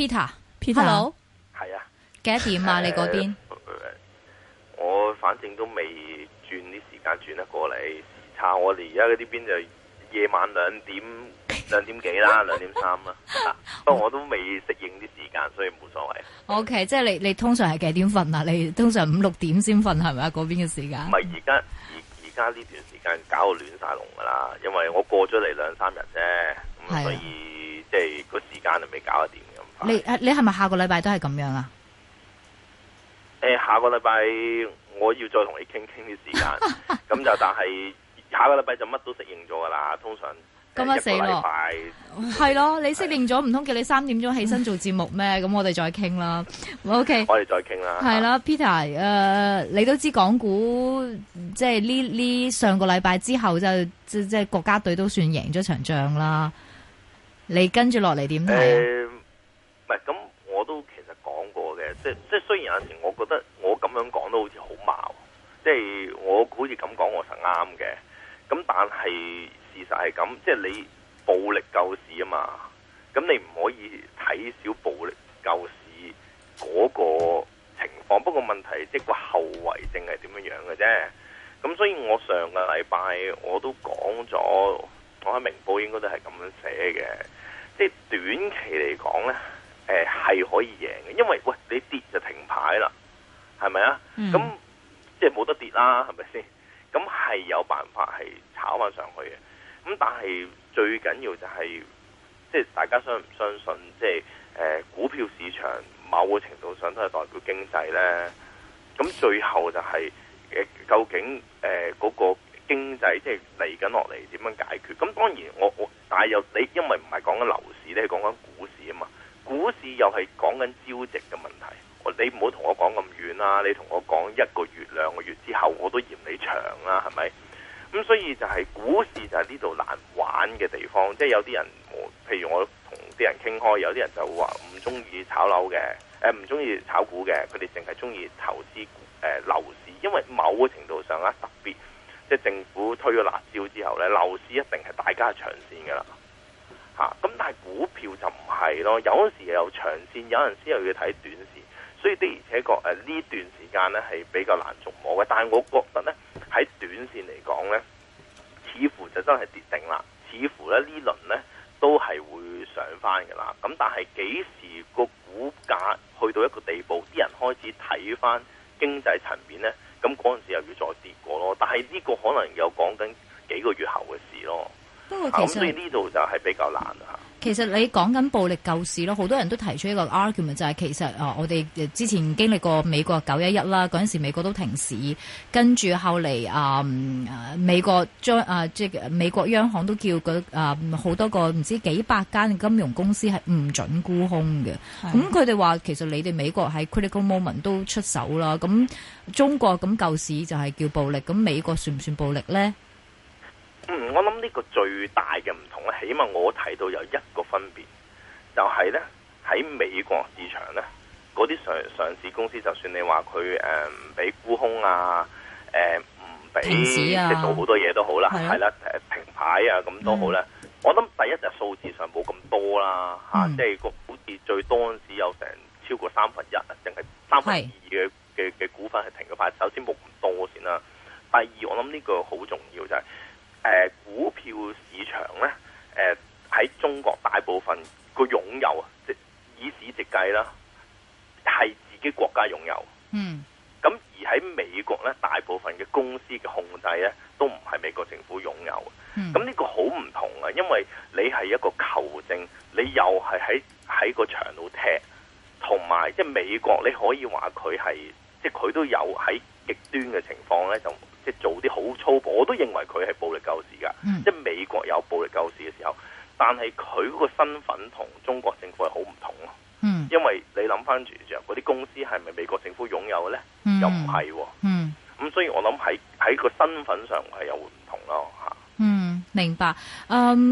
Peter，Hello， 係啊， 幾多點啊？你嗰邊？ 我反正都未轉啲時間轉得過嚟，時差我哋而家嗰啲邊就夜晚2點幾啦，2點3啦。不過我都未適應啲時間，所以冇所謂。 OK， 即係你通常係幾點瞓啊？你通常5、6點先瞓係咪啊？嗰邊嘅時間？ 唔係而家呢段時間搞到亂晒龍噶啦，因為我過咗嚟2-3日啫，咁所以即係個時間就未搞得掂咁。 你係咪下個禮拜都係咁樣啊？ 下個禮拜我要再同你傾啲時間，咁就但係下個禮拜就乜都適應咗噶啦，通常。 咁啊死咯！係咯，你適應咗，唔通叫你3點鐘起身做節目咩？咁我哋再傾啦。OK， 我哋再傾啦。 係啦，Peter，你都知港股即係呢上個禮拜之後就即係國家隊都算贏咗場仗啦。你跟住落嚟點睇？ 唔係咁，我都其實講過嘅，即係雖然有陣時我覺得我咁樣講都好似好矛，即係我好似咁講我實啱嘅，咁但係。事實係咁，即係你暴力救市啊嘛，咁你唔可以睇小暴力救市嗰個情況。不過問題即係個後遺症係點樣嘅啫。咁所以我上個禮拜我都講咗，我喺明報應該都係咁樣寫嘅。即係短期嚟講呢，係可以贏嘅，因為喂你跌就停牌啦，係咪啊？咁即係冇得跌啦，係咪先？咁係有辦法係炒翻上去嘅。咁但係最緊要就係，即係大家相唔相信，即係股票市場某個程度上都係代表經濟呢。咁最後就係究竟嗰個經濟即係嚟緊落嚟點樣解決？咁當然但係又你因為唔係講緊樓市，你係講緊股市啊嘛。股市又係講緊招值嘅問題。你唔好同我講咁遠啦，你同我講1個月、2個月之後，我都嫌你長啦，係咪？咁所以就係股市就係呢度難玩嘅地方，即係有啲人，譬如我同啲人傾開，有啲人就話唔中意炒樓嘅，唔中意炒股嘅，佢哋淨係中意投資樓市，因為某個程度上特別，即係政府推咗辣椒之後咧，樓市一定係大家長線噶啦，咁但係股票就唔係咯，有陣時又長線，有陣時又要睇短線。所以的而且確呢段時間呢係比較難捉摸嘅，但係我覺得呢，喺短線嚟講呢，似乎就真係跌定啦，似乎呢輪呢都係會上翻㗎啦。咁但係幾時個股價去到一個地步，啲人開始睇翻經濟層面呢，咁嗰陣時又要再跌過咯。但係呢個可能有講緊幾個月後嘅事咯。 不過其實所以呢度就係比較難嚇。 其實你講緊暴力救市咯，好多人都提出一個 argument 就係其實我哋之前經歷過美國911啦，嗰陣時美國都停市，跟住後嚟美國即係美國央行都叫好多個唔知幾百間金融公司係唔準沽空嘅。咁佢哋話其實你哋美國喺 critical moment 都出手啦，咁中國咁救市就係叫暴力，咁美國算唔算暴力呢？ 我諗呢個最大嘅唔同咧，起碼我睇到有一個分別，就係咧喺美國市場咧，嗰啲上市公司，就算你話佢唔俾沽空啊，唔俾即係做好多嘢都好啦，係啦，停牌啊咁都好啦。我諗第一就數字上冇咁多啦，即係個好似最多嗰陣時有成超過1/3啊，淨係2/3嘅股份係停咗牌。首先冇咁多先啦，第二我諗呢個好重要就係。股票市場咧，喺中國大部分個擁有啊，即以市值計啦，係自己國家擁有。咁而喺美國咧，大部分嘅公司嘅控制咧，都唔係美國政府擁有。咁呢個好唔同啊，因為你係一個球證，你又係喺個場度踢，同埋即係美國你可以話佢係，即係佢都有喺極端嘅情況咧就。即係做啲好粗暴，我都認為佢係暴力救市㗎。即係美國有暴力救市嘅時候，但係佢嗰個身份同中國政府係好唔同咯。因為你諗翻住嗰啲公司係咪美國政府擁有嘅咧？又唔係喎。咁所以我諗喺個身份上係有唔同咯嚇。 明白。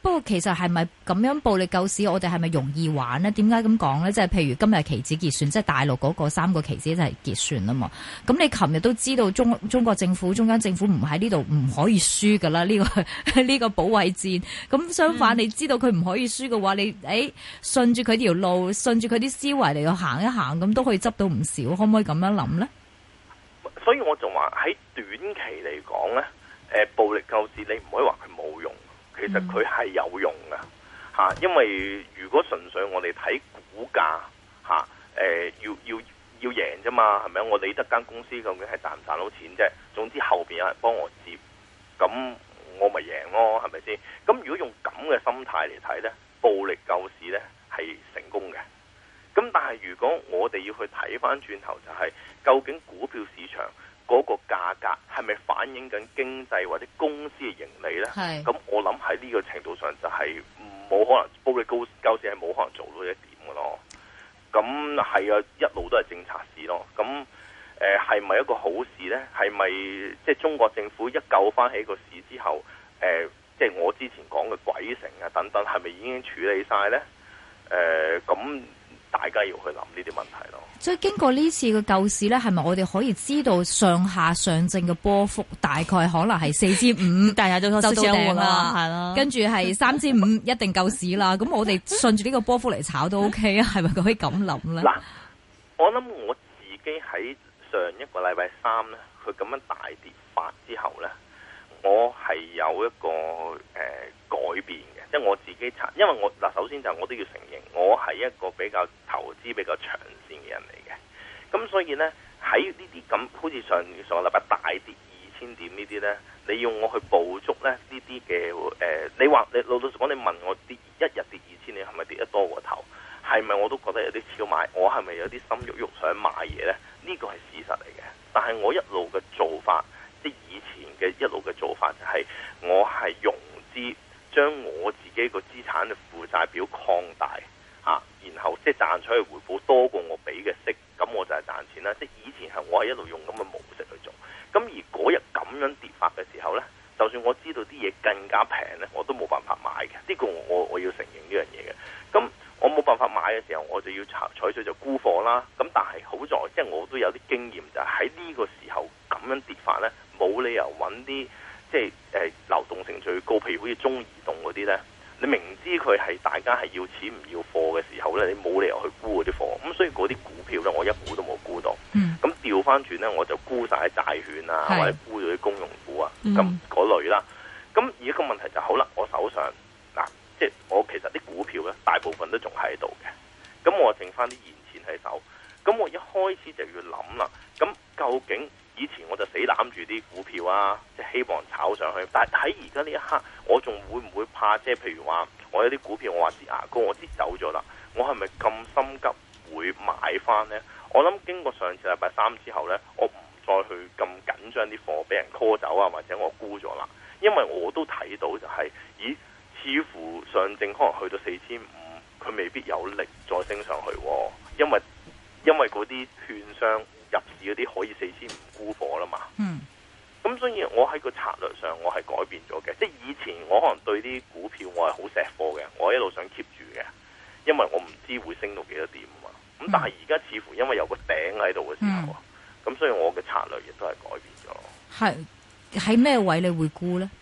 不過其實係咪咁樣暴力救市，我哋係咪容易玩呢？點解咁講呢？即係譬如今日期指結算，即係大陸嗰個3個期指就係結算啊嘛。咁你琴日都知道中國政府、中央政府唔喺呢度唔可以輸噶啦，呢個保衛戰。咁相反，你知道佢唔可以輸嘅話，你順住佢條路，順住佢啲思維嚟到行一行，咁都可以執到唔少。可唔可以咁樣諗呢？ 所以我就話喺短期嚟講呢，暴力救市你唔可以話佢冇用，其實佢係有用噶吓，因為如果純粹我哋睇股價吓，要贏啫嘛，係咪？我理得間公司究竟係賺唔賺到錢啫？總之後邊有人幫我接，咁我咪贏咯，係咪先？咁如果用咁嘅心態嚟睇呢，暴力救市呢係成功嘅。咁但係如果我哋要去睇翻轉頭，就係究竟股票市場嗰個價格係咪反映緊經濟或者公司嘅盈利呢？咁我諗喺呢個程度上就係冇可能，暴力救市係冇可能做到一點嘅咯。咁係啊，一路都係政策市咯。咁係咪一個好事呢？係咪即係中國政府一救翻起個市之後，即係我之前講嘅鬼城啊等等，係咪已經處理晒呢？咁大家要去諗呢啲問題咯。 所以經過呢次嘅救市咧，係咪我哋可以知道上下上證嘅波幅大概可能係4500，大家就到頂啦，係咯。跟住係3500一定救市啦。咁我哋順住呢個波幅嚟炒都 OK 啊？係咪可以咁諗咧？ 嗱，我諗我自己喺上一個禮拜三咧，佢咁樣大跌法之後咧，我係有一個改變嘅。即係我自己查，因為我首先就我都要承認，我係一個比較投資比較長線嘅人嚟嘅。咁所以呢，喺呢啲咁好似上個禮拜大跌2000點呢啲呢，你要我去捕捉呢啲嘅你話你老實講，你問我跌一日跌2000，你係咪跌得多過頭？係咪我都覺得有啲超買？我係咪有啲心喐喐想買嘢呢？呢個係事實嚟嘅。但係我一路嘅做法，即係以前嘅一路嘅做法就係我係融資。將我自己個資產嘅負債表擴大然後即係賺取嘅回報多過我俾嘅息，咁我就係賺錢啦。即係以前係我係一路用咁嘅模式去做，咁而嗰日咁樣跌法嘅時候呢，就算我知道啲嘢更加平呢，我都冇辦法買嘅。呢個我要承認呢樣嘢嘅。咁我冇辦法買嘅時候，我就要採取就沽貨啦。咁但係好在即係我都有啲經驗，就係喺呢個時候咁樣跌法呢，冇理由揾啲即係流動性最高，譬如好似中移動嗰啲呢，你明知佢係大家係要錢唔要貨嘅時候呢，你冇理由去沽嗰啲貨。咁所以嗰啲股票呢，我一股都冇沽到。咁調翻轉呢，我就沽晒債券啊，或者沽咗啲公用股啊，咁嗰類啦。咁而家個問題就好啦，我手上即係我其實啲股票呢，大部分都仲喺度嘅。咁我剩翻啲現錢喺手。咁我一開始就要諗啦。咁究竟以前我就死攬住啲股票啊，即係希望炒上去。但係喺而家呢一刻，我仲會唔會怕？即係譬如話，我有啲股票我話擠牙膏，我擠走咗啦，我係咪咁心急會買翻呢？我諗經過上次禮拜三之後呢，我唔再去咁緊張啲貨俾人 call 走啊，或者我沽咗啦。因為我都睇到就係，咦，似乎上證可能去到4500，佢未必有力再升上去喎。因為嗰啲券商入市嗰啲可以4500沽貨啦嘛。咁所以我喺個策略上我係改變咗嘅。即係以前我可能對啲股票我係好錫貨嘅，我一路想 keep 住嘅，因為我唔知會升到幾多點啊嘛。咁但係而家似乎因為有個頂喺度嘅時候，咁所以我嘅策略亦都係改變咗。係喺咩位你會沽呢？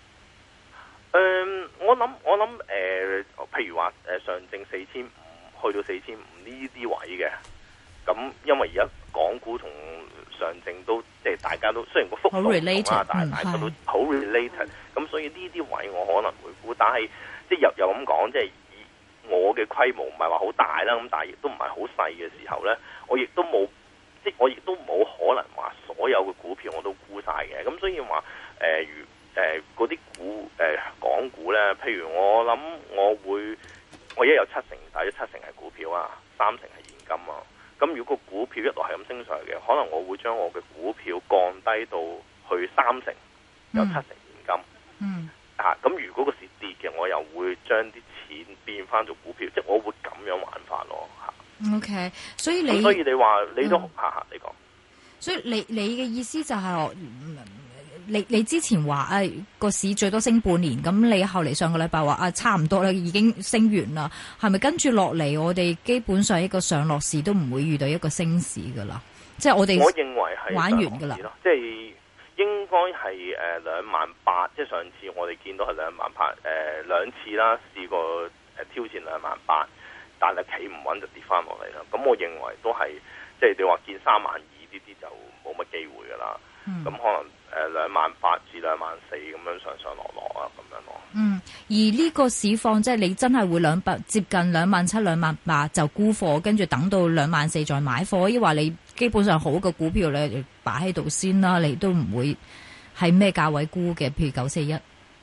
我諗譬如話上證4500去到4500呢啲位嘅。咁因為而家港股同上證都即係大家都雖然個幅度唔同啦，但係大家都好 related。咁所以呢啲位我可能會沽，但係即係又咁講，即係以我嘅規模唔係話好大啦，咁但係亦都唔係好細嘅時候咧，我亦都冇可能話所有嘅股票我都沽晒嘅。咁所以話嗰啲港股咧，譬如我諗我一有70%，大約70%係股票啊，30%係現金啊。咁如果個股票一路係咁升上嚟嘅，可能我會將我嘅股票降低到去30%，有70%現金。咁如果個市跌嘅，我又會將啲錢變翻做股票，即係我會咁樣玩法咯。 OK， 所以你話你都你講。 所以你嘅意思就係你之前話個市最多升半年，咁你後嚟上個禮拜話差唔多啦，已經升完啦，係咪跟住落嚟我哋基本上一個上落市都唔會遇到一個升市噶啦？即係我認為係玩完噶啦， 即係應該係28,000，即係上次我哋見到係28,000，兩次啦，試過挑戰28,000，但係企唔穩就跌翻落嚟啦。咁我認為都係即係你話見32,000呢啲就冇乜機會噶啦。咁可能28,000至24,000咁樣上落啊，咁樣咯。 而呢個市況即係你真係會接近27,000、28,000就沽貨，跟住等到24,000再買貨，抑或你基本上好嘅股票你擺喺度先啦，你都唔會係咩價位沽嘅？譬如941。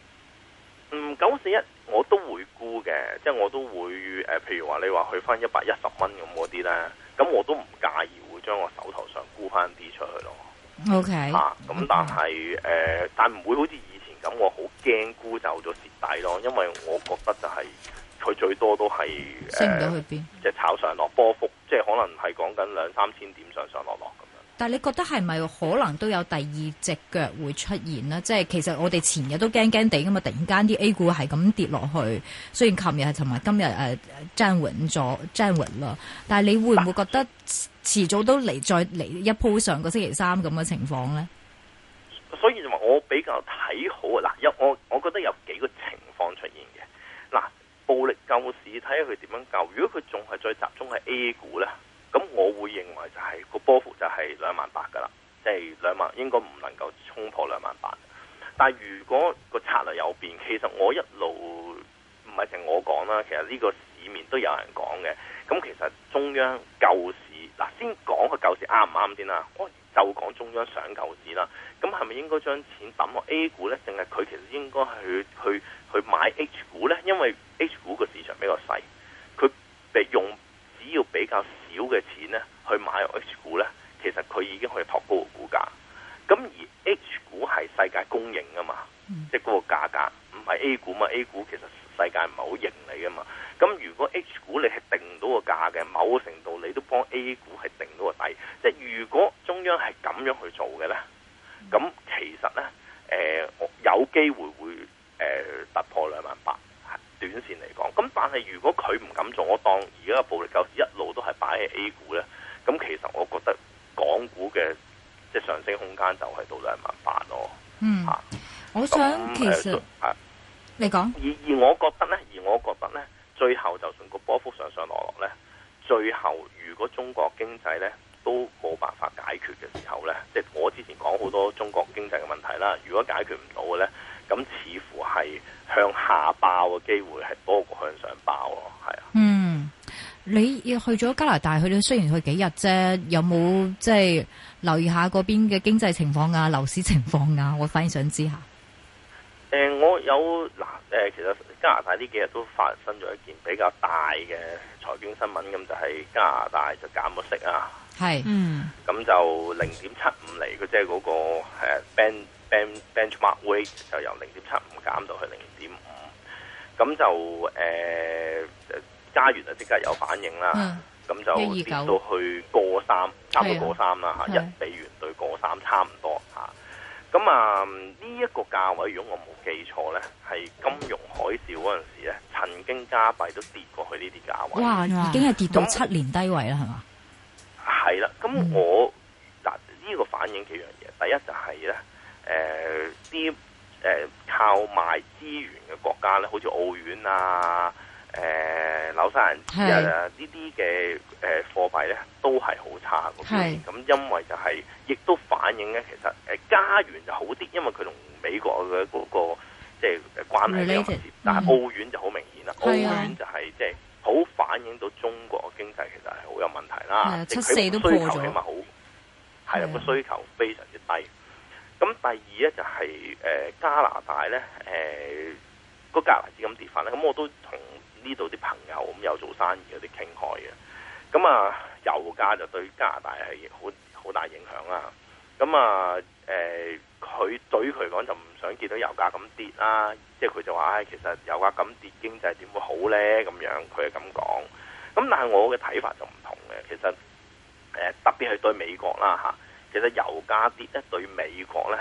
941我都會沽嘅，即係我都會譬如話你話去翻110蚊咁嗰啲咧，咁我都唔介意會將我手頭上沽翻啲出去咯。 OK， 咁但係但唔會好似以前咁，我好驚沽走咗蝕底咯，因為我覺得就係佢最多都係升唔到去邊， 即係炒上落波幅，即係可能係講緊2-3千點上落咁樣。 但係你覺得係咪可能都有第二隻腳會出現呢？即係其實我哋前日都驚驚地噶嘛，突然間啲 A 股係咁跌落去，雖然琴日係同埋今日站穩啦，但係你會唔會覺得遲早都再嚟一鋪上個星期三咁嘅情況呢？ 所以就話我比較睇好嗱，我覺得有幾個情況出現嘅嗱，暴力救市睇下佢點樣救。如果佢仲係再集中喺 A 股呢，咁我會認為就係個波幅就係28,000噶啦，即係20000應該唔能夠衝破28,000。但係如果個策略有變，其實我一路唔係淨我講啦，其實呢個市面都有人講嘅。咁其實中央救市嗱，先講個救市啱唔啱先啦。我就講中央想救市啦。咁係咪應該將錢抌落 A 股呢？定係佢其實應該去買 H 股呢？因為 H 股個市場比較細，佢只要比較少嘅錢呢去買 H 股呢，其實佢已經可以托高個股價。咁而 H 股係世界公認噶嘛，即係嗰個價格唔係 A 股嘛。A 股其實世界唔係好認你噶嘛。咁如果 H 股你係定到個價嘅，某個程度你都幫 A 股係定到個底。即係如果中央係咁樣去做嘅呢，咁其實呢，有機會會突破28,000。短線嚟講，咁但係如果佢唔敢做，我當而家嘅暴力救市一路都係擺喺 A 股呢，咁其實我覺得港股嘅即係上升空間就係到28,000咯。 我想其實你講， 而我覺得呢，最後就算個波幅上落呢，最後如果中國經濟呢都冇辦法解決嘅時候呢，即係我之前講好多中國經濟嘅問題啦，如果解決唔到嘅呢，咁似乎係向下爆嘅機會係多過向上爆咯，係啊。 你要去咗加拿大，去到雖然去幾日啫，有冇即係留意下嗰邊嘅經濟情況啊、樓市情況啊？我反而想知下。 我有其實加拿大呢幾日都發生咗一件比較大嘅財經新聞，咁就係加拿大就減咗息啊。 係， 咁就0.75厘，佢即係嗰個benchmark rate 就由0.75減到去0.5，咁就加元就即刻有反應啦。咁就跌到去過3，差唔多過3啦嚇，1美元對過3差唔多嚇。咁呢一個價位，如果我冇記錯咧，係金融海嘯嗰陣時咧，曾經加幣都跌過去呢啲價位。 哇！已經係跌到7年低位啦，係嘛？ 係啦，咁我呢個反映幾樣嘢。第一就係咧，啲靠賣資源嘅國家咧，好似澳元啊、紐西蘭紙啊呢啲嘅貨幣咧，都係好差嗰邊。咁因為就係亦都反映咧，其實加元就好啲，因為佢同美國嘅嗰個即係關係比較密切。但係澳元就好明顯啦，澳元就係即係好反映到中國嘅經濟其實係好有問題啦。即係佢個需求起碼好係啦，個需求非常之低。咁第二咧就係加拿大咧，個加拿大資金跌翻咧，咁我都同呢度啲朋友咁有做生意嗰啲傾開嘅。咁油價就對加拿大係好大影響啦。咁佢對於佢嚟講就唔想見到油價咁跌啦，即係佢就話其實油價咁跌，經濟點會好咧？咁樣佢係咁講。咁但係我嘅睇法就唔同嘅，其實特別係對美國啦嚇。其實油價跌咧對美國咧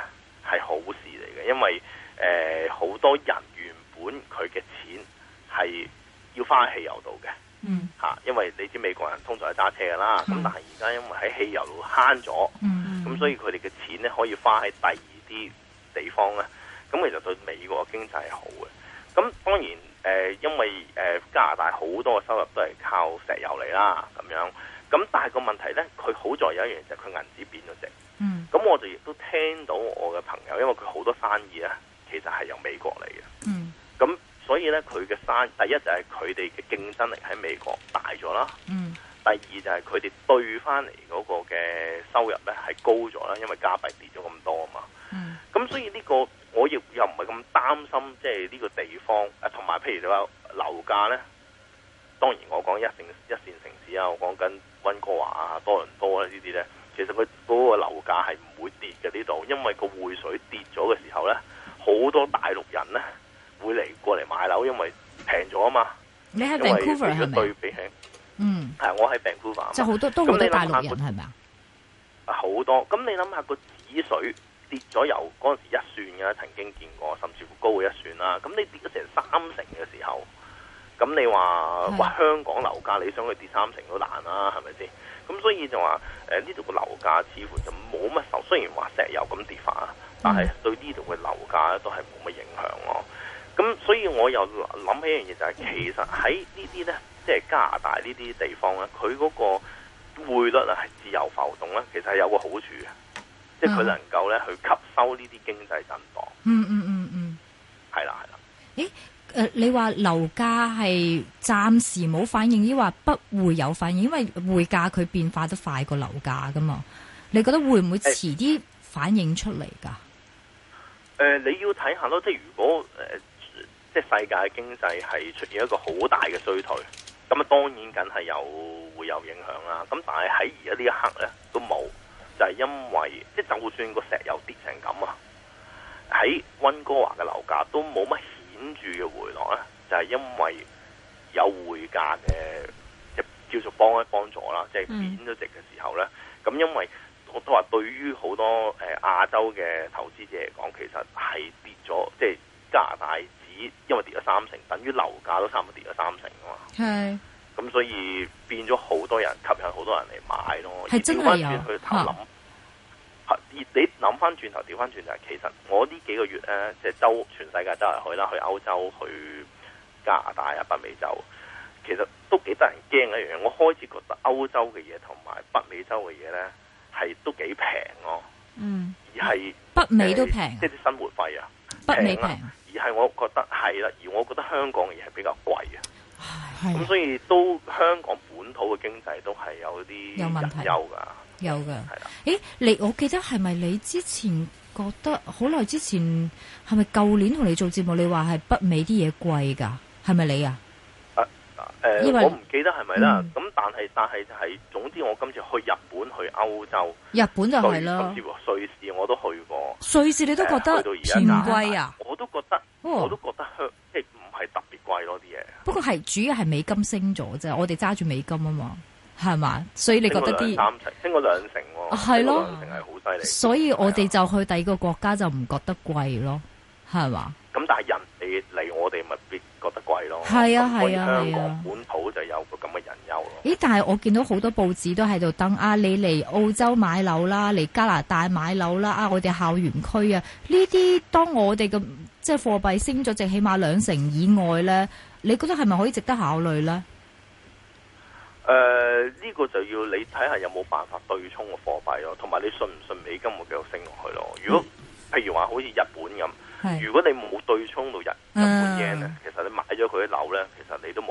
係好事嚟嘅，因為好多人原本佢嘅錢係要花喺汽油度嘅，因為你知美國人通常係揸車㗎啦，咁但係而家因為喺汽油度慳咗，咁所以佢哋嘅錢咧可以花喺第二啲地方咧，咁其實對美國嘅經濟係好嘅。咁當然因為加拿大好多嘅收入都係靠石油嚟啦，咁樣。咁但係個問題咧，佢好在有一樣就係佢銀紙變咗值。咁我哋亦都聽到我嘅朋友，因為佢好多生意咧，其實係由美國嚟嘅。咁所以咧，佢嘅第一就係佢哋嘅競爭力喺美國大咗啦。第二就係佢哋兌翻嚟嗰個嘅收入咧係高咗啦，因為加幣跌咗咁多啊嘛。咁所以呢個我亦又唔係咁擔心，即係呢個地方同埋譬如你話樓價咧，當然我講一線城市啊，我講緊溫哥華啊、多倫多啊呢啲咧，其實佢嗰個樓價係唔會跌嘅呢度，因為個匯水跌咗嘅時候咧，好多大陸人咧會過嚟買樓，因為平咗啊嘛。 你喺 Vancouver 係咪？ 對比起，係我喺 Vancouver。 即係好多大陸人係咪啊？ 好多。咁你諗下個指水跌咗由嗰陣時一算嘅，曾經見過，甚至乎高過一算啦。咁你跌咗成3成嘅時候，咁你話香港樓價你想去跌3成都難啦，係咪先？咁所以就話呢度個樓價似乎就冇乜受，雖然話石油咁跌法，但係對呢度嘅樓價都係冇乜影響咯。咁所以我又諗起一樣嘢就係，其實喺呢啲咧，即係加拿大呢啲地方咧，佢嗰個匯率啊係自由浮動咧，其實係有個好處嘅，即係佢能夠咧去吸收呢啲經濟震盪。係啦。 咦？你話樓價係暫時冇反應，抑或不會有反應？因為匯價佢變化得快過樓價噶嘛？你覺得會唔會遲啲反映出嚟㗎？ 你要睇下咯，即係如果即係世界嘅經濟係出現一個好大嘅衰退，咁啊當然梗係會有影響啦。咁但係喺而家呢一刻咧都冇，就係因為即係就算個石油跌成咁啊，喺溫哥華嘅樓價都冇乜顯著嘅回落咧，就係因為有匯價嘅叫做幫助啦，即係貶咗值嘅時候咧，咁因為我都話對於好多亞洲嘅投資者嚟講，其實係跌咗，即係加拿大紙因為跌咗3成，等於樓價都差唔多跌咗3成啊嘛。係。咁所以變咗好多人吸引好多人嚟買咯。係真係有。去頭諗，你諗翻轉頭，調翻轉就係其實我呢幾個月咧，即係全世界周圍去啦，去歐洲、去加拿大啊、北美洲，其實都幾得人驚嘅一樣嘢。我開始覺得歐洲嘅嘢同埋北美洲嘅嘢咧，係都幾平咯。而係北美都平， 即係啲生活費啊， 北美平。 而係我覺得係啦，而我覺得香港嘅嘢係比較貴啊。咁所以都香港本土嘅經濟都係有啲隱憂㗎。 有嘅，係啦。我記得係咪你之前覺得好耐之前係咪舊年同你做節目，你話係北美啲嘢貴㗎？係咪你啊？ 我唔記得係咪啦。咁但係就係總之，我今次去日本、去歐洲， 日本就係啦。 甚至乎瑞士我都去過。 瑞士你都覺得偏貴啊？ 我都覺得，即係唔係特別貴咯啲嘢。不過係主要係美金升咗啫，我哋揸住美金啊嘛。係嘛？所以你覺得啲升咗2成喎？ 係咯， 升咗2成係好犀利。 所以我哋就去第二個國家就唔覺得貴咯，係嘛？ 咁但係人哋嚟我哋咪必覺得貴咯。 係啊係啊香港本土就有個咁嘅隱憂咯。 咦？但係我見到好多報紙都喺度登啊，你嚟澳洲買樓啦，嚟加拿大買樓啦，啊，我哋校園區啊，呢啲當我哋嘅即係貨幣升咗值起碼2成以外咧，你覺得係咪可以值得考慮咧？ 呢個就要你睇下有冇辦法對沖個貨幣咯，同埋你信唔信美金會繼續升落去咯？如果譬如話好似日本咁，如果你冇對沖到日本 yen 咧，其實你買咗佢啲樓咧，其實你都冇。